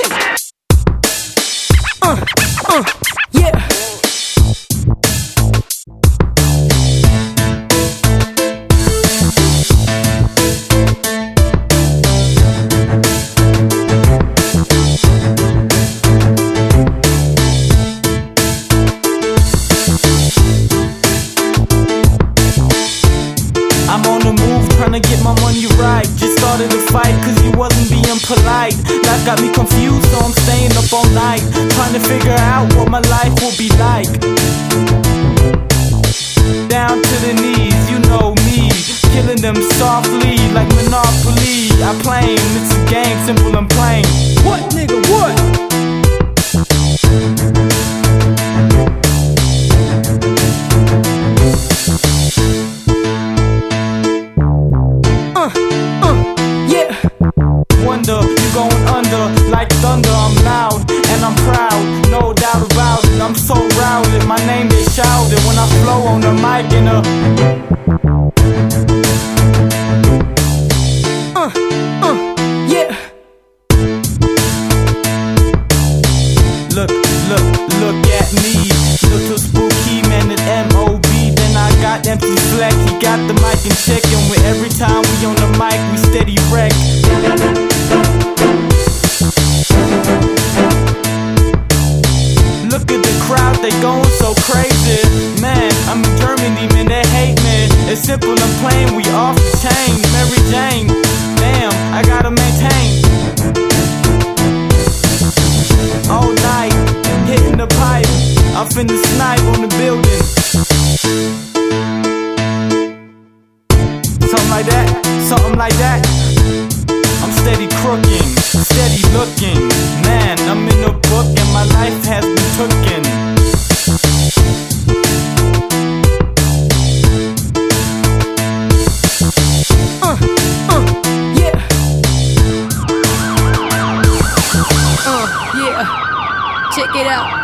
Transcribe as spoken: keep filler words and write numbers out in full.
Uh, uh, yeah. I'm on the move, trying to get my money right. Just started a fight cause he wasn't being polite. Life got me confused, so I'm staying up all night, trying to figure out what my life will be like. Down to the knees, you know me, killing them softly like Monopoly. I play 'em, it's a game, simple and plain. What nigga, what? You going under like thunder. I'm loud and I'm proud, no doubt about it. I'm so routed, my name is shouted when I flow on the mic in a uh, uh, yeah. Look, look, look at me, little spooky man at M O B. Then I got M C Fleck, he got the mic in check, and with every time we on the mic, we steady wreck. Look at the crowd, they going so crazy. Man, I'm in Germany, man, they hate me. It's simple and plain, we off the chain. Mary Jane, damn, I gotta maintain. All night, hitting the pipe, I'm finna snipe on the building. Something like that, something like that. I'm steady crooking, steady looking. Man, I'm in a book and my life has been tooken. Uh, uh, yeah. Uh, yeah. Check it out.